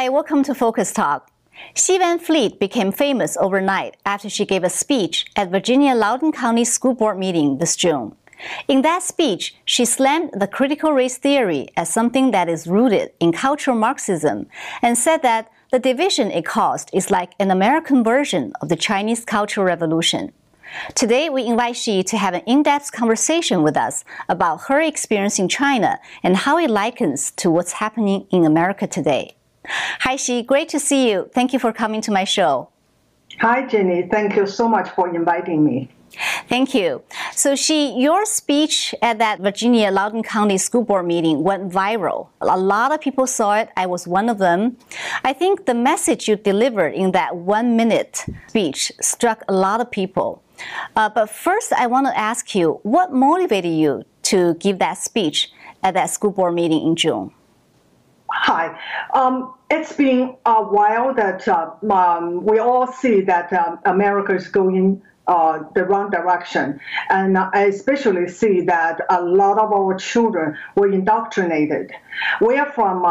Hi, welcome to Focus Talk. Xi Van Fleet became famous overnight after she gave a speech at Virginia Loudoun County School Board meeting this June. In that speech, she slammed the critical race theory as something that is rooted in cultural Marxism and said that the division it caused is like an American version of the Chinese Cultural Revolution. Today, we invite Xi to have an in-depth conversation with us about her experience in China and how it likens to what's happening in America today. Hi, Xi. Great to see you. Thank you for coming to my show. Hi, Jenny. Thank you so much for inviting me. Thank you. So, Xi, your speech at that Virginia Loudoun County School Board meeting went viral. A lot of people saw it. I was one of them. I think the message you delivered in that 1-minute speech struck a lot of people. But first, I want to ask you, what motivated you to give that speech at that school board meeting in June? Hi. It's been a while that we all see that America is going the wrong direction. And I especially see that a lot of our children were indoctrinated. We are from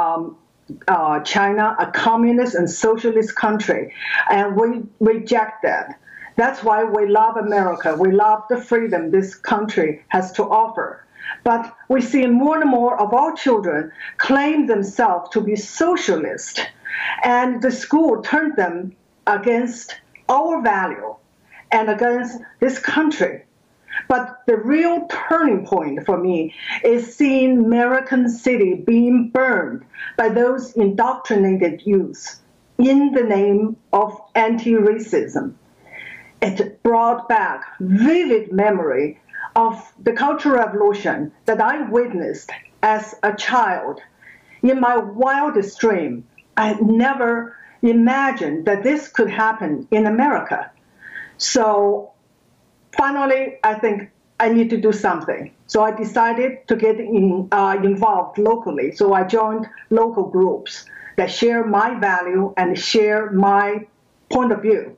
China, a communist and socialist country, and we reject that. That's why we love America. We love the freedom this country has to offer. But we see more and more of our children claim themselves to be socialist, and the school turned them against our value and against this country. But the real turning point for me is seeing American City being burned by those indoctrinated youth in the name of anti-racism. It brought back vivid memory of the Cultural Revolution that I witnessed as a child. In my wildest dream, I had never imagined that this could happen in America. So finally, I think I need to do something. So I decided to get involved locally. So I joined local groups that share my value and share my point of view.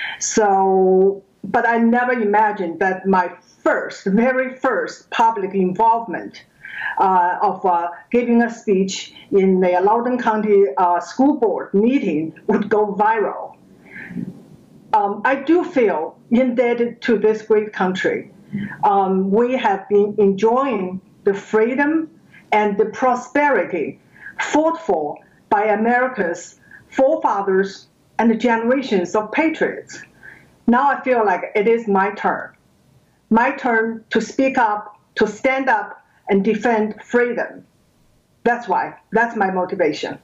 So, but I never imagined that my very first public involvement of giving a speech in the Loudoun County School Board meeting would go viral. I do feel indebted to this great country. We have been enjoying the freedom and the prosperity fought for by America's forefathers and the generations of patriots. Now I feel like it is my turn to speak up, to stand up and defend freedom. That's my motivation.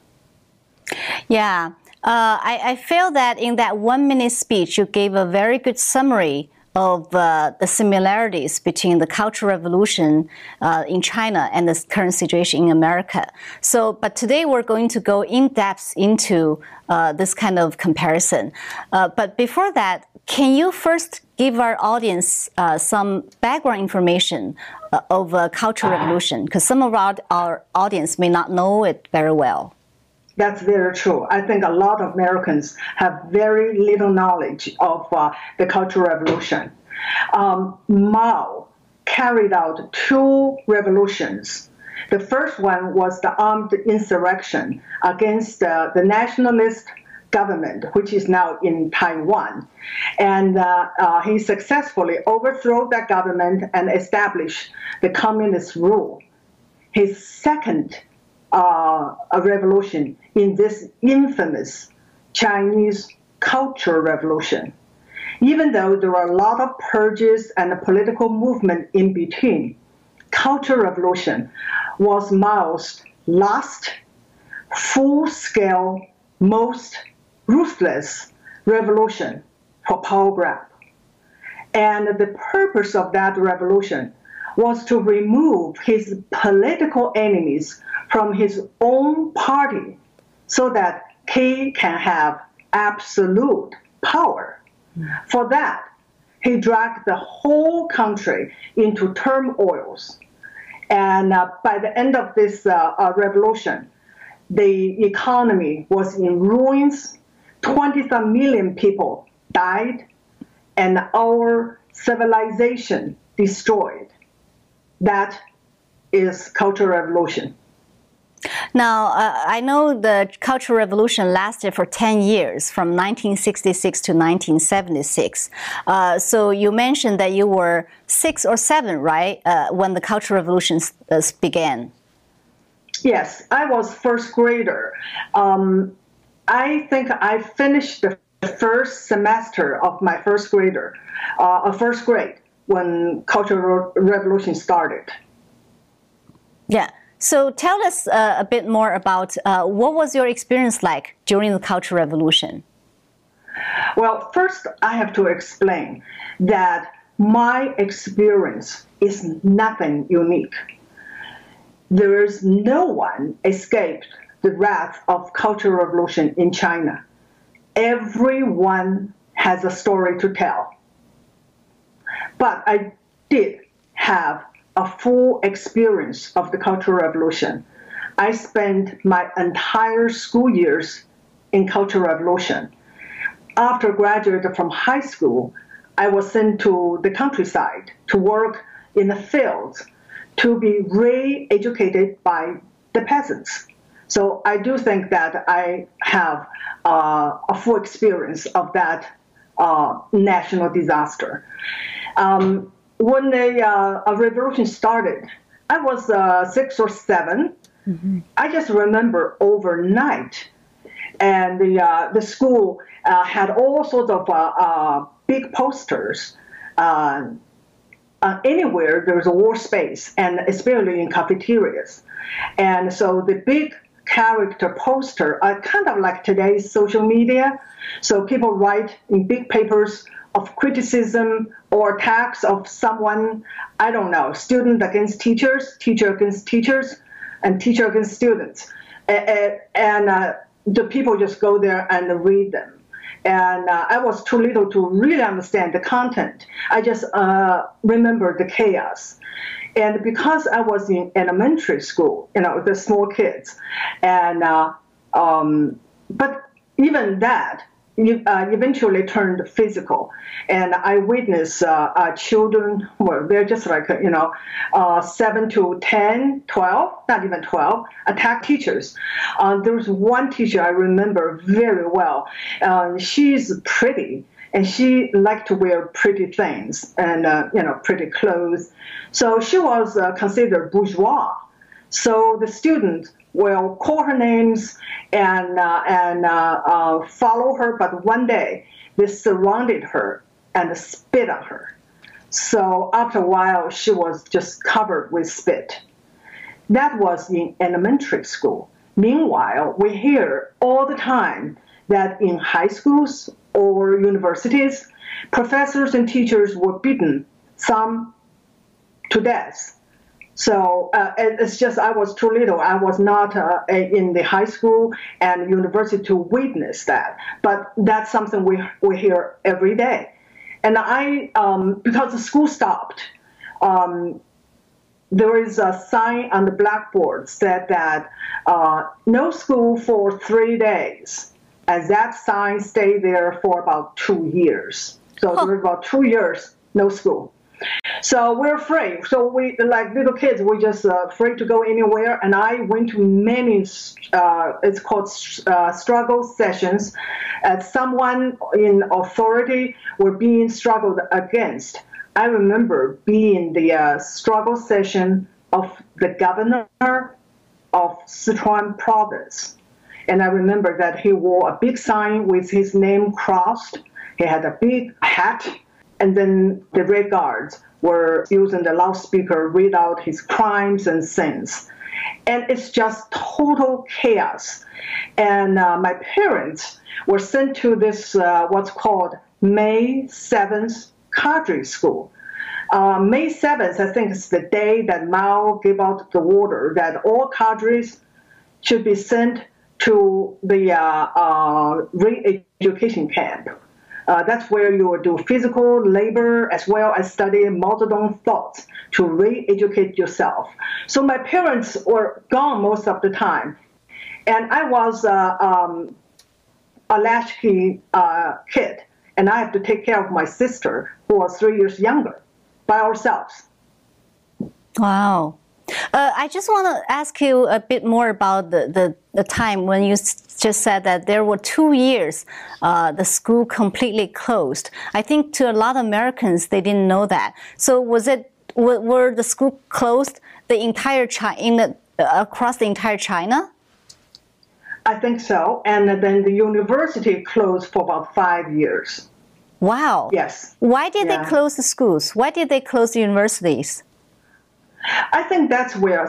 Yeah, I feel that in that 1-minute speech, you gave a very good summary of the similarities between the Cultural Revolution in China and the current situation in America. So, but today we're going to go in depth into this kind of comparison. But before that, can you first give our audience some background information of Cultural Revolution? Because some of our audience may not know it very well. That's very true. I think a lot of Americans have very little knowledge of the Cultural Revolution. Mao carried out 2 revolutions. The first one was the armed insurrection against the nationalist government, which is now in Taiwan. And he successfully overthrew that government and established the communist rule. His second a revolution in this infamous Chinese Cultural Revolution. Even though there were a lot of purges and a political movement in between, Cultural Revolution was Mao's last full-scale, most ruthless revolution for power grab. And the purpose of that revolution was to remove his political enemies from his own party so that he can have absolute power. For that, he dragged the whole country into turmoils. And by the end of this revolution, the economy was in ruins, 20-some million people died, and our civilization destroyed. That is Cultural Revolution. Now, I know the Cultural Revolution lasted for 10 years, from 1966 to 1976. So you mentioned that you were 6 or 7, right, when the Cultural Revolution began? Yes, I was first grader. I think I finished the first semester of my first grade when Cultural Revolution started. Yeah. So tell us a bit more about what was your experience like during the Cultural Revolution? Well, first I have to explain that my experience is nothing unique. There is no one escaped the wrath of Cultural Revolution in China. Everyone has a story to tell. But I did have a full experience of the Cultural Revolution. I spent my entire school years in Cultural Revolution. After graduating from high school, I was sent to the countryside to work in the fields to be re-educated by the peasants. So I do think that I have a full experience of that national disaster. When the revolution started, I was 6 or 7. Mm-hmm. I just remember overnight, and the school had all sorts of big posters. Anywhere there's a war space, and especially in cafeterias. And so the big character poster are kind of like today's social media. So people write in big papers of criticism or attacks of someone, I don't know, student against teachers, teacher against teachers, and teacher against students. And the people just go there and read them. And I was too little to really understand the content. I just remember the chaos. And because I was in elementary school, the small kids, and but even that eventually turned physical. And I witnessed children, well, they're just like, 7 to 10, 12, not even 12, attack teachers. There was one teacher I remember very well. She's pretty, and she liked to wear pretty things and, pretty clothes. So she was considered bourgeois. So the students will call her names and follow her, but one day they surrounded her and spit on her. So after a while, she was just covered with spit. That was in elementary school. Meanwhile, we hear all the time that in high schools or universities, professors and teachers were beaten, some to death. So it's just I was too little. I was not in the high school and university to witness that. But that's something we hear every day. And I, because the school stopped, there is a sign on the blackboard said that no school for 3 days. And that sign stayed there for about 2 years. So there was about 2 years, no school. So we're afraid. So we, like little kids, we're just afraid to go anywhere. And I went to many, it's called struggle sessions. Someone in authority were being struggled against. I remember being the struggle session of the governor of Sichuan province. And I remember that he wore a big sign with his name crossed. He had a big hat. And then the Red Guards were using the loudspeaker, read out his crimes and sins. And it's just total chaos. And my parents were sent to this, what's called May 7th cadre school. May 7th, I think, is the day that Mao gave out the order that all cadres should be sent to the re-education camp. That's where you will do physical labor as well as study Mao Zedong thoughts to re-educate yourself. So my parents were gone most of the time. And I was a latchkey kid, and I had to take care of my sister, who was 3 years younger, by ourselves. Wow. I just want to ask you a bit more about the time when you just said that there were 2 years the school completely closed. I think to a lot of Americans, they didn't know that. So were the school closed the entire across the entire China? I think so. And then the university closed for about 5 years. Wow. Yes. Why did they close the schools? Why did they close the universities? I think that's where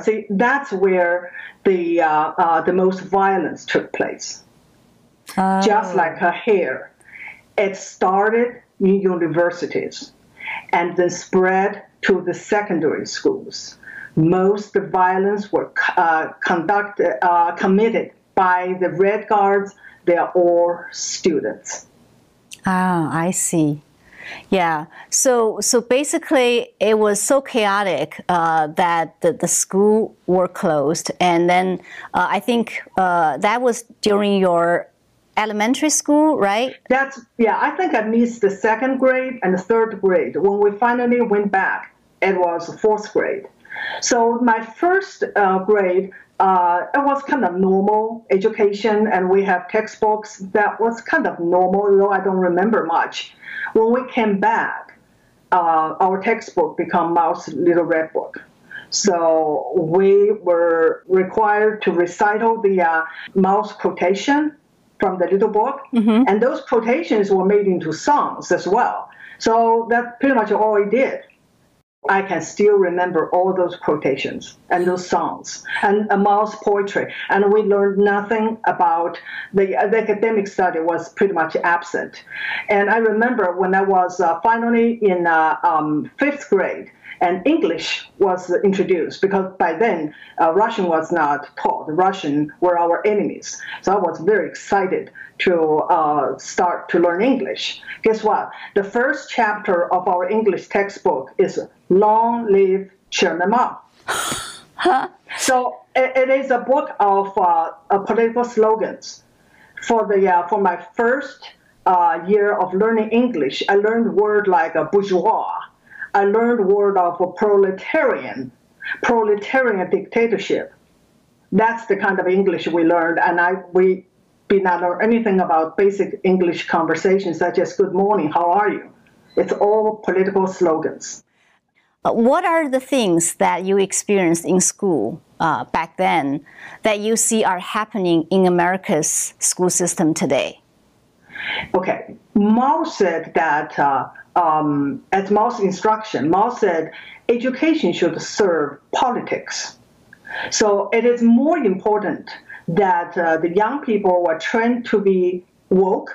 the most violence took place. Just like here, it started in universities and then spread to the secondary schools. Most of the violence were committed by the Red Guards. They are all students. Ah, I see. Yeah. So basically, it was so chaotic that the school were closed, and then I think that was during your elementary school, right? I think I missed the 2nd grade and the 3rd grade. When we finally went back, it was 4th grade. So my first grade, it was kind of normal education, and we have textbooks. That was kind of normal, though I don't remember much. When we came back, our textbook became Mao's Little Red Book. So we were required to recite all the Mao's quotation from the little book, and those quotations were made into songs as well. So that's pretty much all we did. I can still remember all those quotations and those songs and Mao's poetry. And we learned nothing about the academic study was pretty much absent. And I remember when I was finally in 5th grade, and English was introduced, because by then Russian was not taught. Russian were our enemies. So I was very excited to start to learn English. Guess what? The first chapter of our English textbook is Long Live Chairman Mao. So it is a book of political slogans. For my first year of learning English, I learned word like bourgeois. I learned word of proletarian dictatorship. That's the kind of English we learned, and we did not learn anything about basic English conversations such as good morning, how are you? It's all political slogans. What are the things that you experienced in school back then that you see are happening in America's school system today? Okay, Mao said that at Mao's instruction, Mao said education should serve politics. So it is more important that the young people were trained to be woke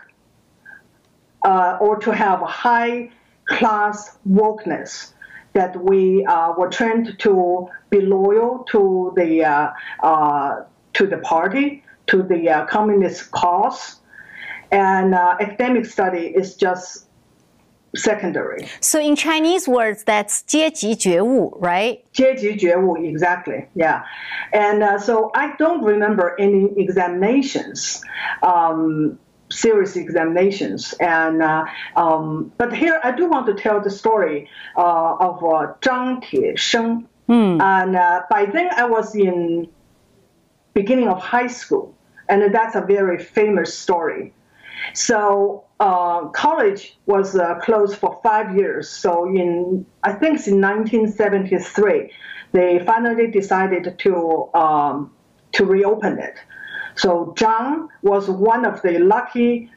or to have a high-class wokeness, that we were trained to be loyal to the party, to the communist cause, and academic study is just secondary. So in Chinese words, that's 阶级觉悟, right? 阶级觉悟, exactly, yeah. And so I don't remember any examinations, serious examinations. And but here I do want to tell the story of Zhang Tiesheng. And by then I was in beginning of high school, and that's a very famous story. So college was closed for 5 years. So I think it's in 1973, they finally decided to reopen it. So Zhang was one of the lucky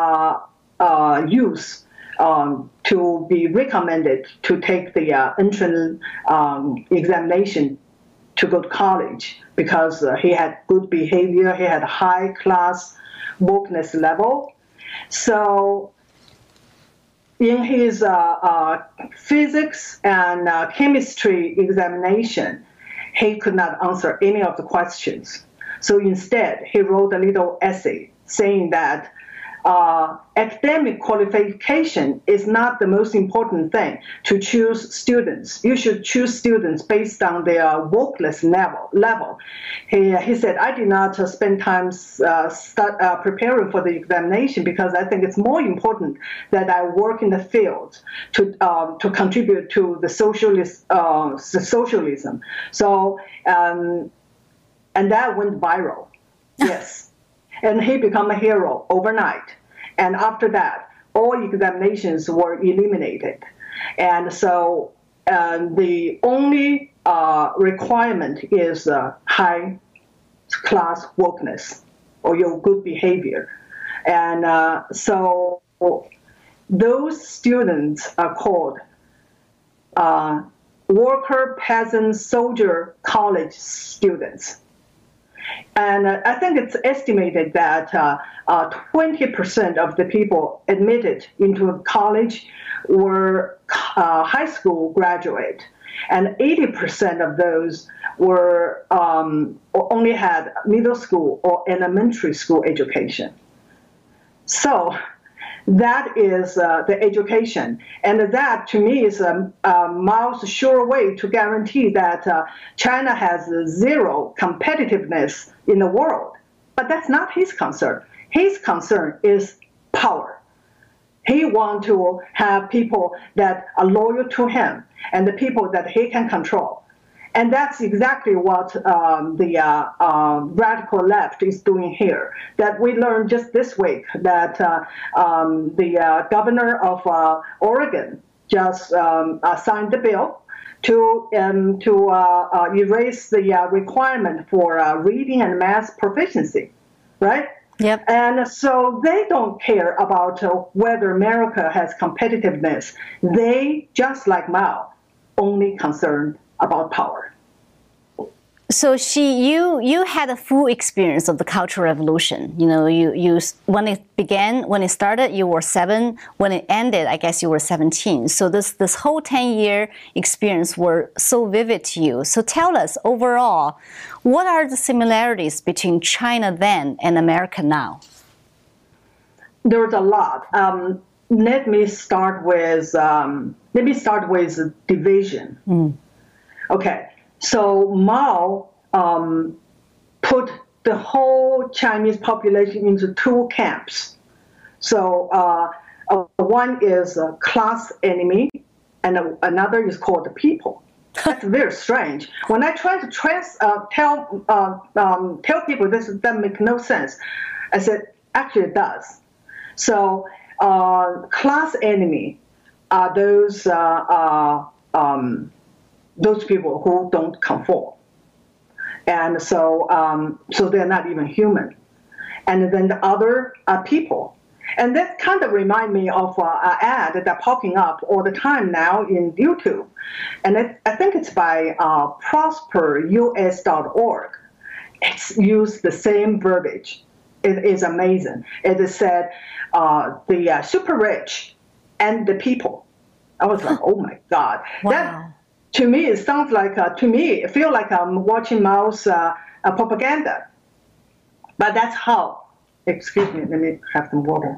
youths to be recommended to take the entrance examination to go to college, because he had good behavior, he had high class wokeness level. So in his physics and chemistry examination, he could not answer any of the questions. So instead, he wrote a little essay saying that academic qualification is not the most important thing to choose students. You should choose students based on their workless level. He said, I did not spend time preparing for the examination because I think it's more important that I work in the field to contribute to the socialism. So, and that went viral. Yes. And he became a hero overnight. And after that, all examinations were eliminated. And so the only requirement is high class wokeness or your good behavior. And so those students are called worker, peasant, soldier, college students. And I think it's estimated that 20% of the people admitted into college were high school graduate, and 80% of those were only had middle school or elementary school education. So that is the education. And that, to me, is Mao's sure way to guarantee that China has zero competitiveness in the world. But that's not his concern. His concern is power. He wants to have people that are loyal to him and the people that he can control. And that's exactly what the radical left is doing here. That we learned just this week that the governor of Oregon just signed the bill to erase the requirement for reading and math proficiency, right? Yep. And so they don't care about whether America has competitiveness. They, just like Mao, only concerned about power. So you had a full experience of the Cultural Revolution. You know, you when it started, you were 7. When it ended, I guess you were 17. So this whole 10-year experience were so vivid to you. So tell us overall, what are the similarities between China then and America now? There's a lot. Let me start with division. Okay. So Mao put the whole Chinese population into 2 camps. So one is a class enemy, and another is called the people. That's very strange. When I try to tell people this doesn't make no sense, I said actually it does. So class enemy are those people who don't conform. And so they're not even human. And then the other are people. And that kind of reminds me of an ad that's popping up all the time now in YouTube. And I think it's by prosperus.org. It's used the same verbiage. It is amazing. It is said the super rich and the people. I was like, oh my God. Wow. That, to me, it sounds like, it feels like I'm watching Mao's propaganda. But that's how, excuse me, let me have some water.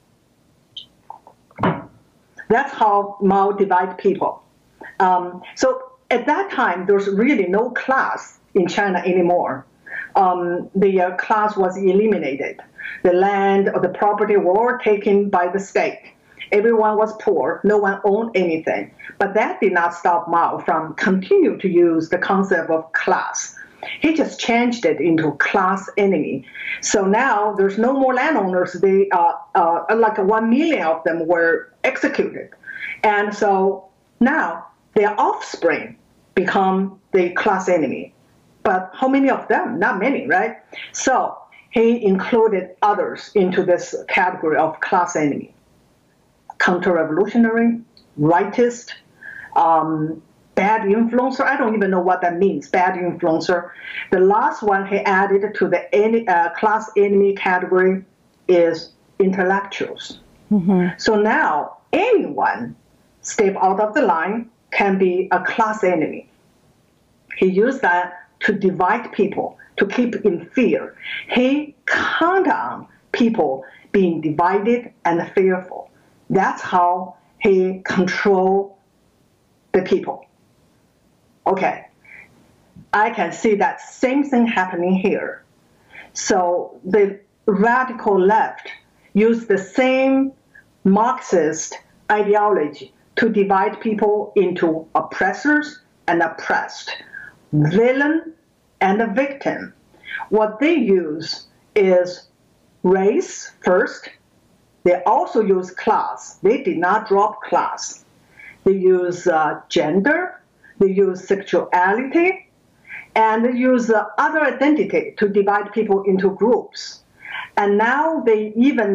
That's how Mao divides people. So at that time, there's really no class in China anymore. The class was eliminated. The land or the property were all taken by the state. Everyone was poor. No one owned anything. But that did not stop Mao from continuing to use the concept of class. He just changed it into class enemy. So now there's no more landowners. They like 1 million of them were executed. And so now their offspring become the class enemy. But how many of them? Not many, right? So he included others into this category of class enemy. Counter-revolutionary, rightist, bad influencer. I don't even know what that means, bad influencer. The last one he added to the class enemy category is intellectuals. So now anyone step out of the line can be a class enemy. He used that to divide people, to keep in fear. He count on people being divided and fearful. That's how he controlled the people. Okay, I can see that same thing happening here. So the radical left used the same Marxist ideology to divide people into oppressors and oppressed, villain and a victim. What they use is race first. They also use class. They did not drop class. They use gender. They use sexuality. And they use other identity to divide people into groups. And now they even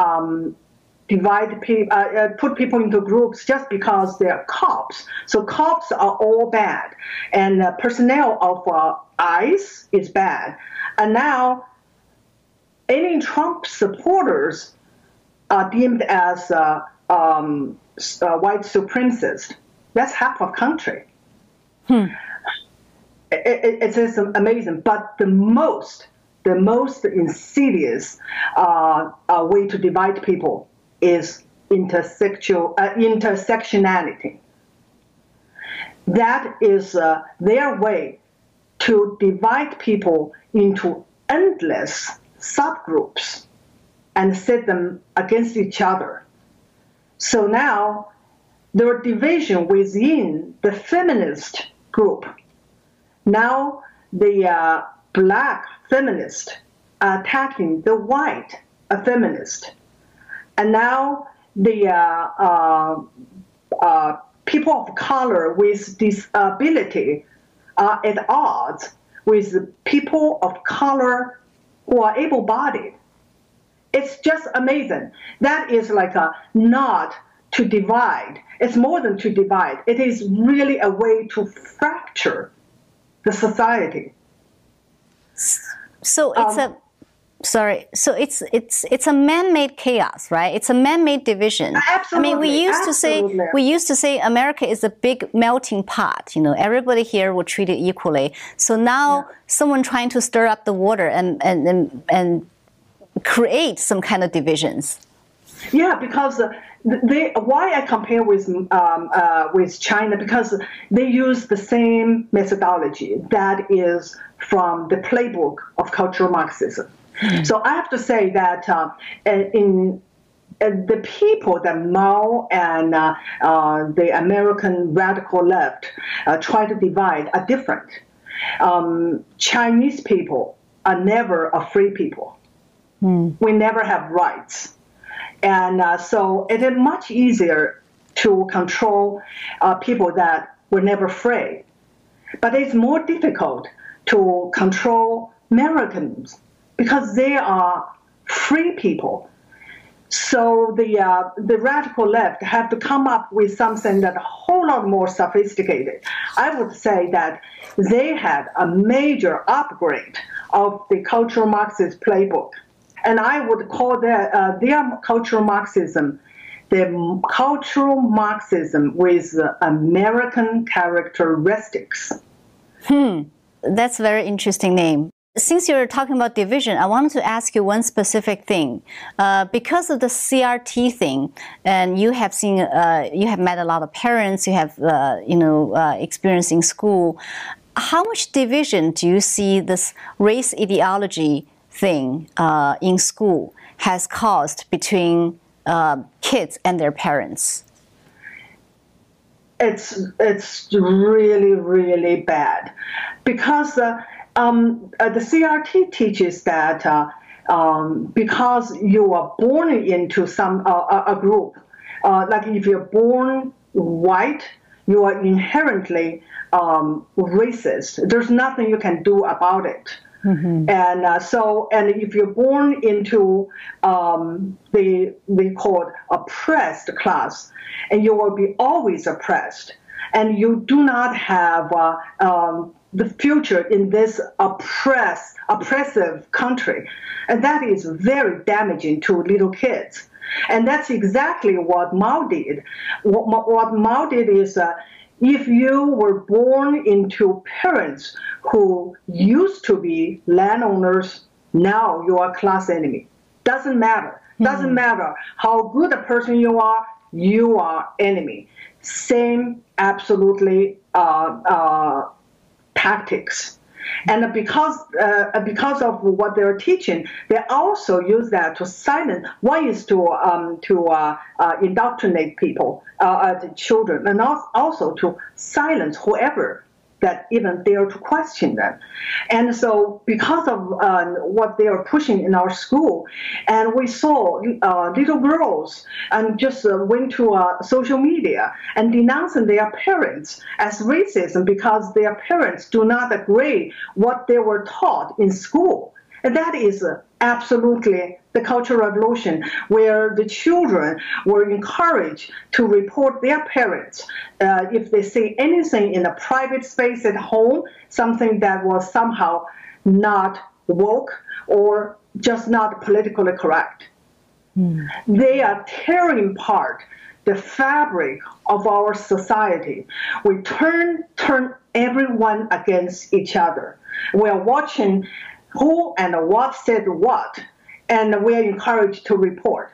put people into groups just because they're cops. So cops are all bad. And personnel of ICE is bad. And now any Trump supporters are deemed as white supremacists. That's half of the country. It's just amazing. But the most insidious way to divide people is intersectionality. That is their way to divide people into endless subgroups and set them against each other. So now there are division within the feminist group. Now the black feminist are attacking the white feminist. And now the people of color with disability are at odds with people of color who are able-bodied. It's just amazing. That is like a not to divide. It's more than to divide. It is really a way to fracture the society. So it's it's a man-made chaos, right? It's a man-made division. Absolutely. I mean, we used to say America is a big melting pot. You know, everybody here will treat it equally. So now someone trying to stir up the water and create some kind of divisions. Yeah, because why I compare with China, because they use the same methodology that is from the playbook of cultural Marxism. So I have to say that in the people that Mao and the American radical left try to divide are different. Chinese people are never a free people. We never have rights. And so it is much easier to control people that were never free. But it's more difficult to control Americans because they are free people. So the radical left have to come up with something that's a whole lot more sophisticated. I would say that they had a major upgrade of the cultural Marxist playbook. And I would call their cultural Marxism the cultural Marxism with American characteristics. That's a very interesting name. Since you're talking about division, I wanted to ask you one specific thing. Because of the CRT thing, and you have seen, you have met a lot of parents, you have, experience in school. How much division do you see this race ideology thing in school has caused between kids and their parents? It's really, really bad, because the CRT teaches that because you are born into a group, like if you're born white, you are inherently racist. There's nothing you can do about it. And and if you're born into we call it oppressed class, and you will be always oppressed, and you do not have the future in this oppressive country, and that is very damaging to little kids. And that's exactly what Mao did. What Mao did is, if you were born into parents who used to be landowners, now you are class enemy. Doesn't matter. Doesn't matter how good a person you are enemy. Same, absolutely, tactics. And because of what they're teaching, they also use that to silence. One is to indoctrinate people, the children, and also to silence whoever that even dare to question them. And so because of what they are pushing in our school, and we saw little girls and just went to social media and denouncing their parents as racism because their parents do not agree what they were taught in school. And that is absolutely the Cultural Revolution, where the children were encouraged to report their parents if they say anything in a private space at home, something that was somehow not woke or just not politically correct. They are tearing apart the fabric of our society. We turn everyone against each other. We are watching who and what said what, and we are encouraged to report.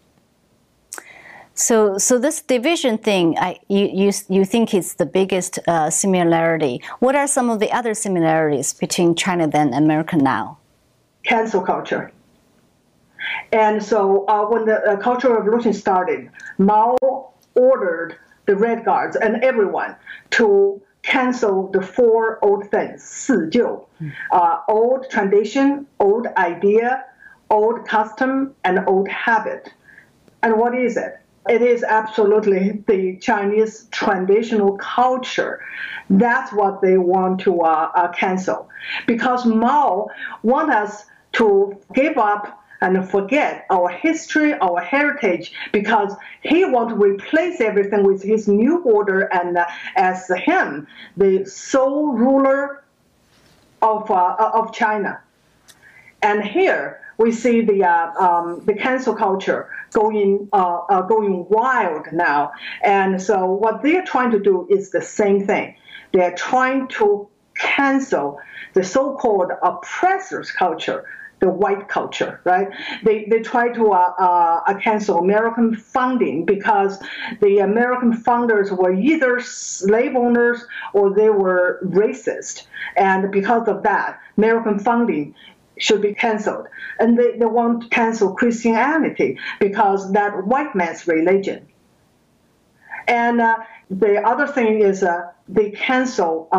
So this division thing, you think is the biggest similarity. What are some of the other similarities between China then and America now? Cancel culture. And so when the Cultural Revolution started, Mao ordered the Red Guards and everyone to cancel the four old things, 四旧, old tradition, old idea, old custom, and old habit. And what is it? It is absolutely the Chinese traditional culture. That's what they want to cancel. Because Mao wants us to give up and forget our history, our heritage, because he wants to replace everything with his new order and as him, the sole ruler of China. And here we see the cancel culture going wild now. And so what they're trying to do is the same thing. They're trying to cancel the so-called oppressors culture, the white culture, right? They try to cancel American founding because the American founders were either slave owners or they were racist. And because of that, American founding should be canceled. And they want to cancel Christianity because that white man's religion. And the other thing is they cancel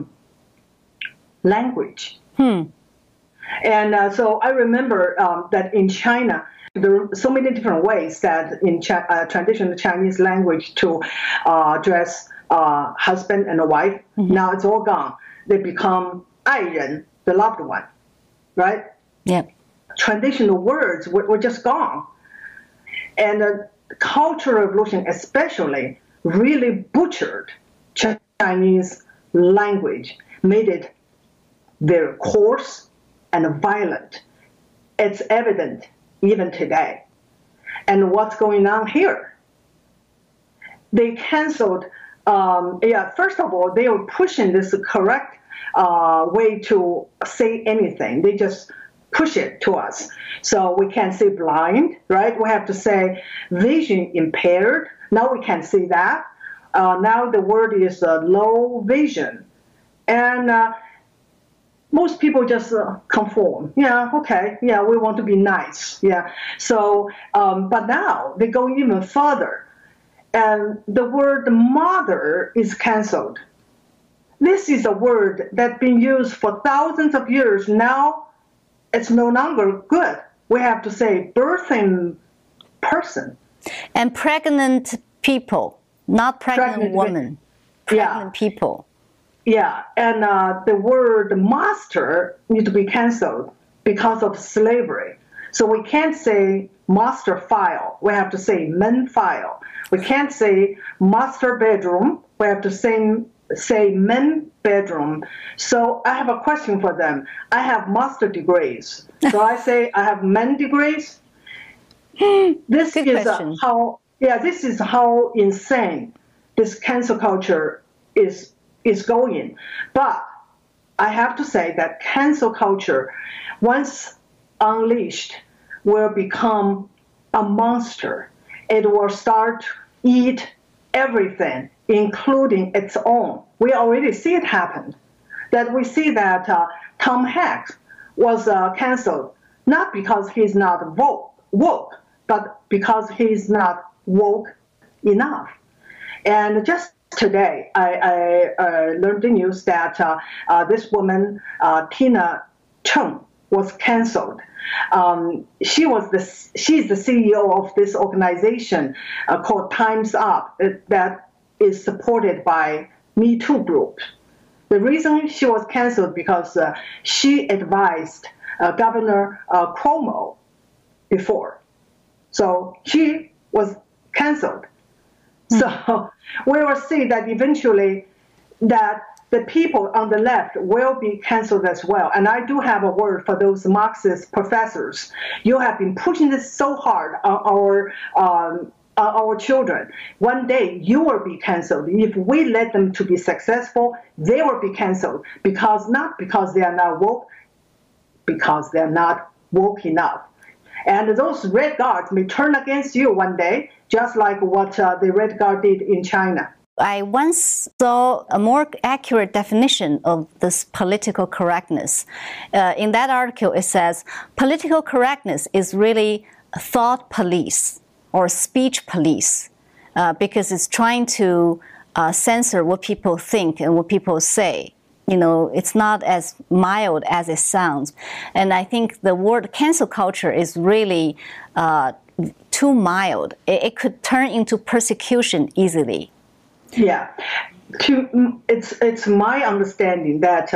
language. And so I remember that in China, there are so many different ways that in traditional Chinese language to address husband and a wife. Now it's all gone. They become 爱人, the loved one, right? Yeah. Traditional words were just gone. And the Cultural Revolution especially really butchered Chinese language, made it very coarse and violent. It's evident even today. And what's going on here? They canceled, first of all, they were pushing this correct way to say anything. They just push it to us. So we can't say blind, right? We have to say vision impaired. Now we can't see that. Now the word is low vision. And most people just conform. Yeah, okay. Yeah, we want to be nice. Yeah. So, but now they go even further. And the word mother is canceled. This is a word that's been used for thousands of years. Now it's no longer good. We have to say birthing person. And pregnant people, not pregnant women. Pregnant people. Yeah, and the word master needs to be canceled because of slavery. So we can't say master file. We have to say men file. We can't say master bedroom. We have to say men bedroom. So I have a question for them. I have master degrees. So I say I have men degrees. This is how insane this cancel culture is going. But I have to say that cancel culture, once unleashed, will become a monster. It will start to eat everything, including its own. We already see it happen. That we see that Tom Hanks was canceled, not because he's not woke, but because he's not woke enough. And just today, I learned the news that this woman, Tina Chung, was canceled. She's the CEO of this organization called Time's Up that is supported by Me Too group. The reason she was canceled because she advised Governor Cuomo before. So she was canceled. So we will see that eventually that the people on the left will be canceled as well. And I do have a word for those Marxist professors. You have been pushing this so hard on our children. One day you will be canceled. If we let them to be successful, they will be canceled not because they are not woke, because they're not woke enough. And those red guards may turn against you one day, just like what the red guard did in China. I once saw a more accurate definition of this political correctness. In that article, it says, political correctness is really thought police or speech police, because it's trying to censor what people think and what people say. You know, it's not as mild as it sounds. And I think the word cancel culture is really too mild. It could turn into persecution easily. Yeah, it's my understanding that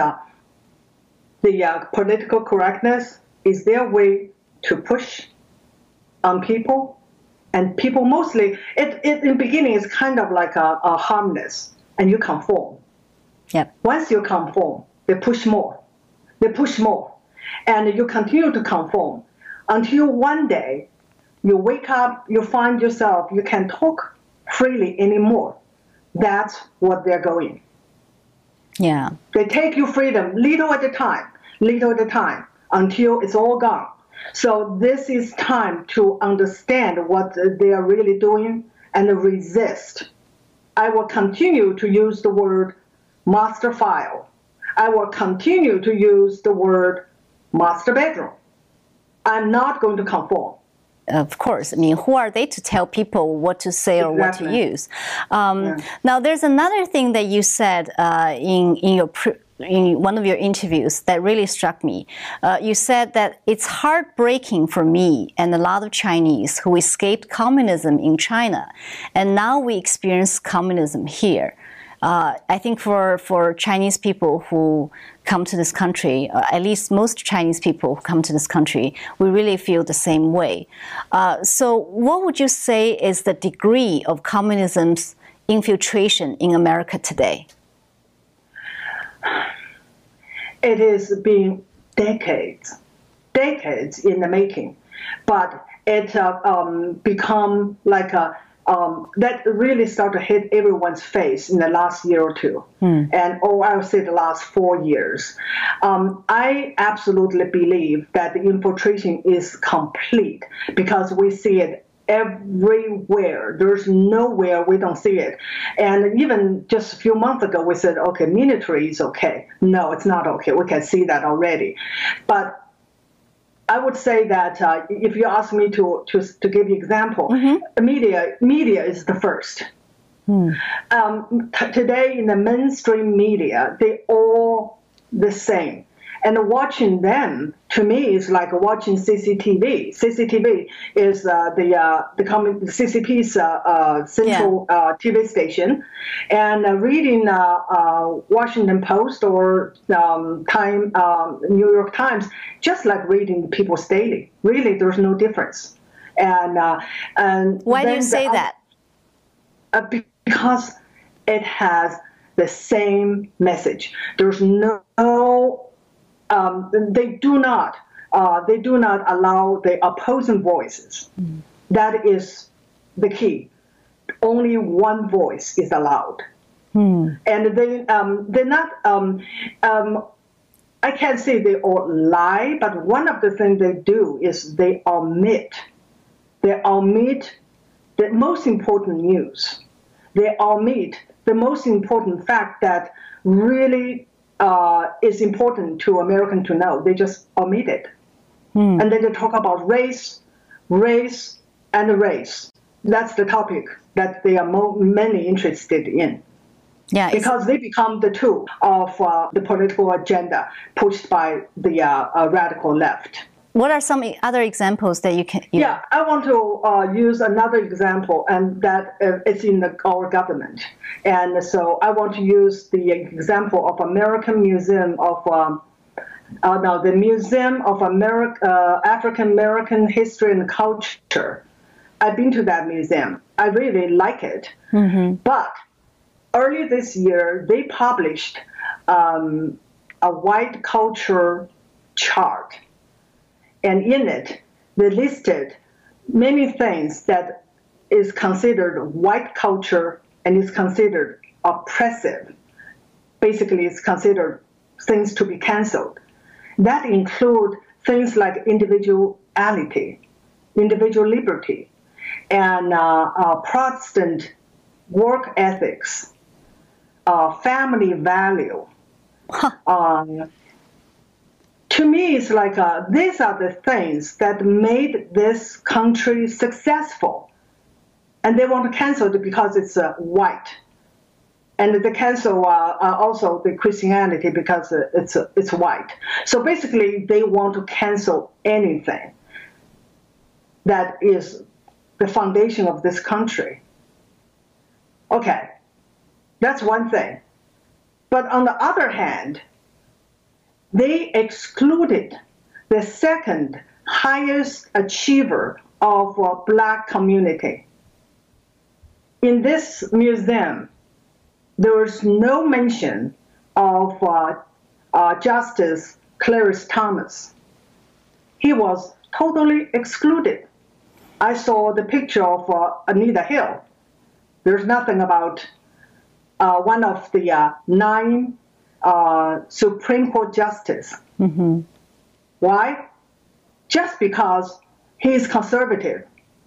the political correctness is their way to push on people, and people mostly, in the beginning, it's kind of like a harmless, and you conform. Yep. Once you conform, they push more. They push more. And you continue to conform until one day you wake up, you find yourself, you can talk freely anymore. That's what they're going. Yeah. They take your freedom little at a time, until it's all gone. So this is time to understand what they are really doing and resist. I will continue to use the word master file. I will continue to use the word master bedroom. I'm not going to conform. Of course. I mean, who are they to tell people what to say or what to use? Now, there's another thing that you said in one of your interviews that really struck me. You said that it's heartbreaking for me and a lot of Chinese who escaped communism in China, and now we experience communism here. I think for Chinese people who come to this country, at least most Chinese people who come to this country, we really feel the same way. So what would you say is the degree of communism's infiltration in America today? It has been decades in the making, but it become like that really started to hit everyone's face in the last year or two, and I would say the last 4 years. I absolutely believe that the infiltration is complete because we see it everywhere. There's nowhere we don't see it. And even just a few months ago, we said, okay, military is okay. No, it's not okay. We can see that already. But I would say that if you ask me to give you an example, media is the first. Today in the mainstream media, they all the same. And watching them, to me, is like watching CCTV. CCTV is the CCP's central TV station. And reading Washington Post or New York Times, just like reading People's Daily. Really, there's no difference. And why do you say that? Because it has the same message. There's no they do not allow the opposing voices. That is the key. Only one voice is allowed, and they're not. I can't say they all lie, but one of the things they do is they omit They omit the most important news. They omit the most important fact that really is important to Americans to know. They just omit it. And then they talk about race, and race. That's the topic that they are mainly interested in. Yeah, because they become the tool of the political agenda pushed by the radical left. What are some other examples that you can? Yeah, I want to use another example, and that it's in our government. And so I want to use the example of American Museum of the Museum of African American History and Culture. I've been to that museum. I really like it. Mm-hmm. But early this year, they published a white culture chart. And in it, they listed many things that is considered white culture and is considered oppressive. Basically, it's considered things to be canceled. That include things like individuality, individual liberty, and Protestant work ethics, family value. To me, it's like these are the things that made this country successful. And they want to cancel it because it's white. And they cancel also the Christianity because it's white. So basically, they want to cancel anything that is the foundation of this country. Okay, that's one thing. But on the other hand, they excluded the second highest achiever of Black community. In this museum, there was no mention of Justice Clarence Thomas. He was totally excluded. I saw the picture of Anita Hill. There's nothing about one of the 9 Supreme Court justices. Mm-hmm. Why? Just because he is conservative.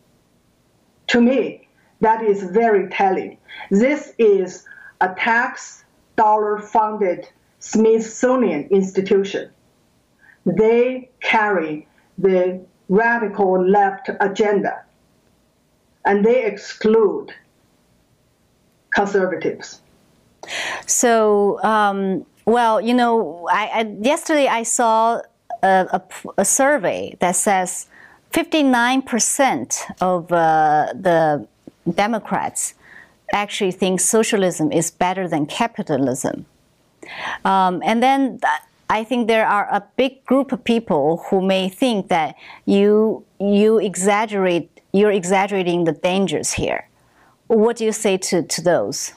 To me, that is very telling. This is a tax dollar-funded Smithsonian institution. They carry the radical left agenda, and they exclude conservatives. So, well, you know, yesterday I saw a survey that says 59% of the Democrats actually think socialism is better than capitalism. And then I think there are a big group of people who may think that you're exaggerating the dangers here. What do you say to those?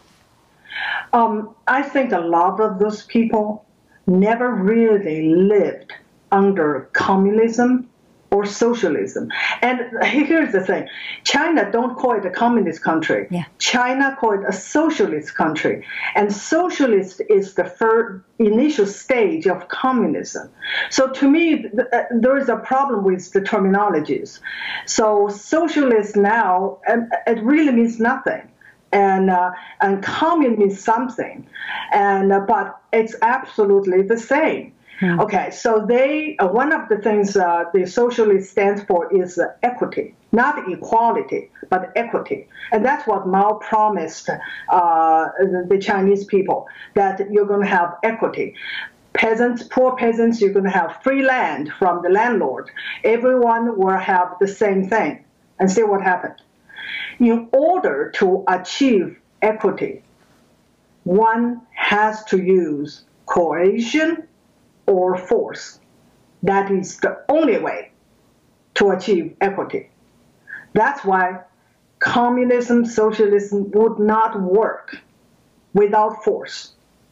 I think a lot of those people never really lived under communism or socialism. And here's the thing. China don't call it a communist country. Yeah. China call it a socialist country. And socialist is the first initial stage of communism. So to me, there is a problem with the terminologies. So socialist now, it really means nothing. And commune means something. But it's absolutely the same. Hmm. Okay, so one of the things the socialist stands for is equity, not equality, but equity. And that's what Mao promised the Chinese people, that you're going to have equity. Peasants, poor peasants, you're going to have free land from the landlord. Everyone will have the same thing. And see what happened. In order to achieve equity, one has to use coercion or force. That is the only way to achieve equity. That's why communism, socialism would not work without force.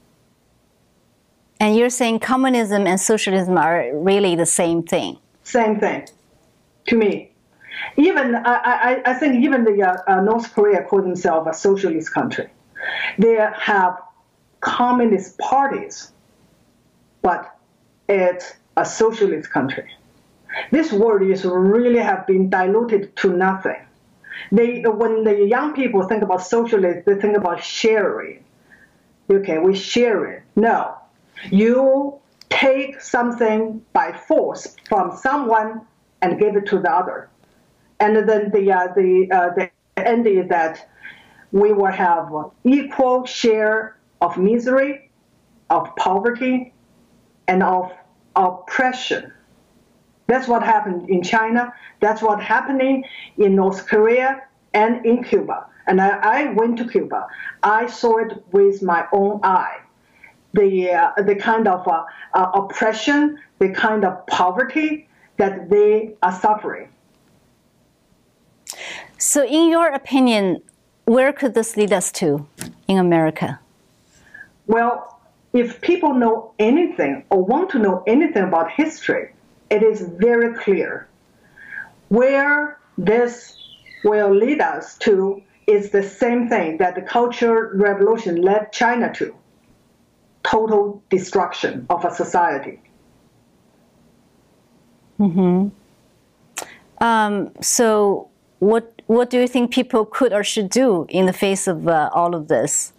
And you're saying communism and socialism are really the same thing? Same thing, to me. Even I think even the North Korea call themselves a socialist country. They have communist parties, but it's a socialist country. This word is really have been diluted to nothing. When the young people think about socialism, they think about sharing. Okay, we share it. No, you take something by force from someone and give it to the other. And then the end is that we will have equal share of misery, of poverty, and of oppression. That's what happened in China. That's what's happening in North Korea and in Cuba. And I went to Cuba. I saw it with my own eye. The kind of oppression, the kind of poverty that they are suffering. So in your opinion, where could this lead us to in America? Well, if people know anything or want to know anything about history, it is very clear. Where this will lead us to is the same thing that the Cultural Revolution led China to: total destruction of a society. Mm-hmm. So what do you think people could or should do in the face of all of this?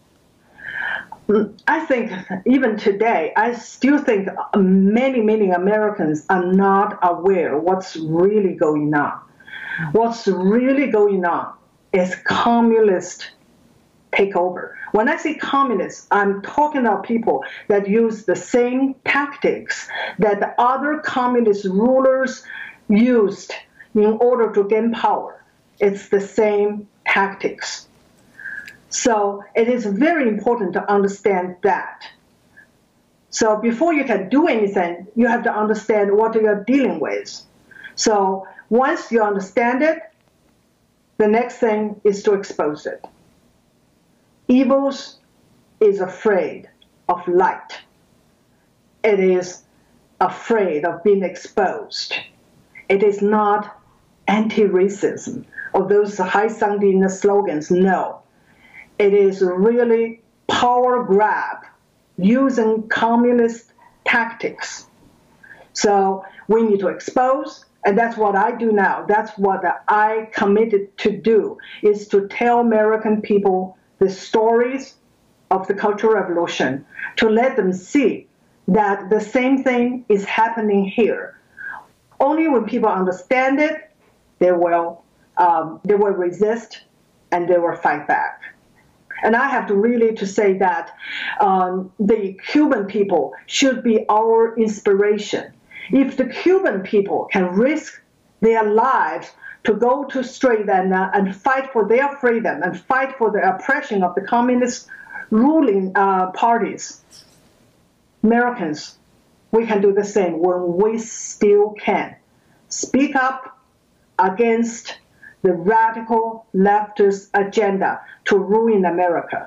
I think even today, I still think many Americans are not aware what's really going on. What's really going on is communist takeover. When I say communists, I'm talking about people that use the same tactics that the other communist rulers used in order to gain power. It's the same tactics. So it is very important to understand that. So before you can do anything, you have to understand what you're dealing with. So once you understand it, the next thing is to expose it. Evils is afraid of light. It is afraid of being exposed. It is not anti-racism or those high-sounding slogans, no. It is really power grab using communist tactics. So we need to expose, and that's what I do now. That's what I committed to do, is to tell American people the stories of the Cultural Revolution, to let them see that the same thing is happening here. Only when people understand it, they will resist and they will fight back. And I have to really to say that the Cuban people should be our inspiration. If the Cuban people can risk their lives to go to street and fight for their freedom and fight for the oppression of the communist ruling parties, Americans, we can do the same when we still can. Speak up against the radical leftist agenda to ruin America.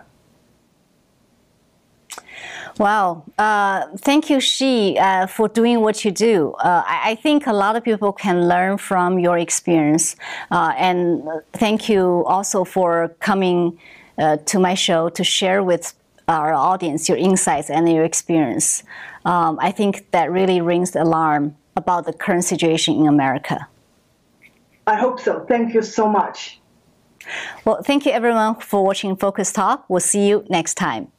Wow. Thank you, Xi, for doing what you do. I think a lot of people can learn from your experience. And thank you also for coming to my show to share with our audience your insights and your experience. I think that really rings the alarm about the current situation in America. I hope so. Thank you so much. Well, thank you everyone for watching Focus Talk. We'll see you next time.